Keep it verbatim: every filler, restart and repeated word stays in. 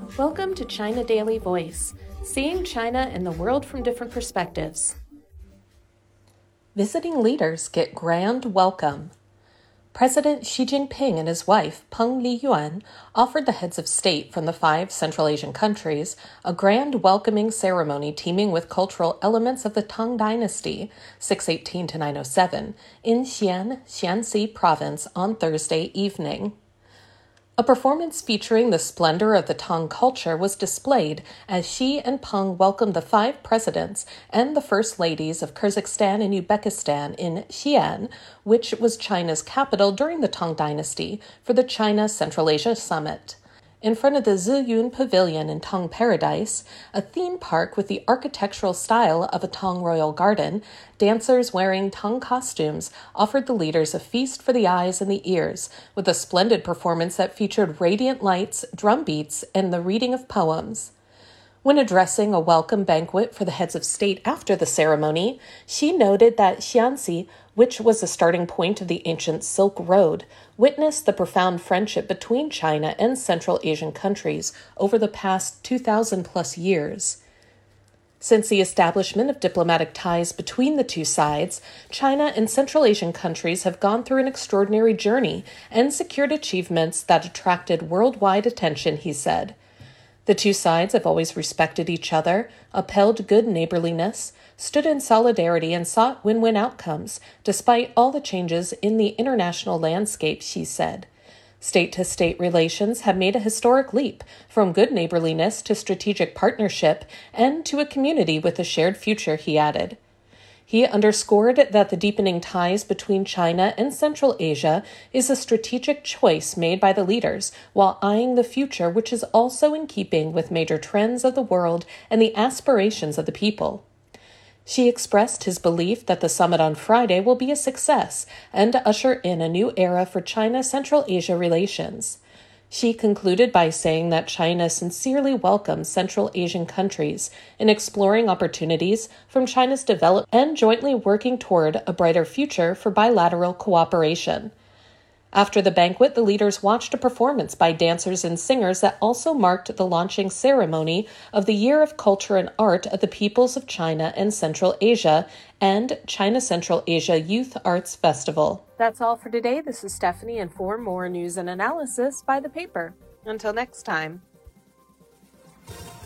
Welcome to China Daily Voice, seeing China and the world from different perspectives. Visiting leaders get grand welcome. President Xi Jinping and his wife, Peng Liyuan, offered the heads of state from the five Central Asian countries a grand welcoming ceremony teeming with cultural elements of the Tang Dynasty, six eighteen to nine oh seven, in Xi'an, Shaanxi Province on Thursday evening. A performance featuring the splendor of the Tang culture was displayed as Xi and Peng welcomed the five presidents and the first ladies of Kyrgyzstan and Uzbekistan in Xi'an, which was China's capital during the Tang Dynasty, for the China Central Asia Summit. In front of the Ziyun Pavilion in Tang Paradise, a theme park with the architectural style of a Tang royal garden, dancers wearing Tang costumes offered the leaders a feast for the eyes and the ears, with a splendid performance that featured radiant lights, drum beats, and the reading of poems. When addressing a welcome banquet for the heads of state after the ceremony, Xi noted that Shaanxi, which was the starting point of the ancient Silk Road, witnessed the profound friendship between China and Central Asian countries over the past two thousand plus years. Since the establishment of diplomatic ties between the two sides, China and Central Asian countries have gone through an extraordinary journey and secured achievements that attracted worldwide attention, he said. The two sides have always respected each other, upheld good neighborliness, stood in solidarity, and sought win-win outcomes, despite all the changes in the international landscape, she said. State-to-state relations have made a historic leap, from good neighborliness to strategic partnership, and to a community with a shared future, he added. He underscored that the deepening ties between China and Central Asia is a strategic choice made by the leaders, while eyeing the future, which is also in keeping with major trends of the world and the aspirations of the people. Xi expressed his belief that the summit on Friday will be a success and usher in a new era for China-Central Asia relations. Xi concluded by saying that China sincerely welcomes Central Asian countries in exploring opportunities from China's development and jointly working toward a brighter future for bilateral cooperation. After the banquet, the leaders watched a performance by dancers and singers that also marked the launching ceremony of the Year of Culture and Art of the Peoples of China and Central Asia and China Central Asia Youth Arts Festival. That's all for today. This is Stephanie, and for more news and analysis, by the paper. Until next time.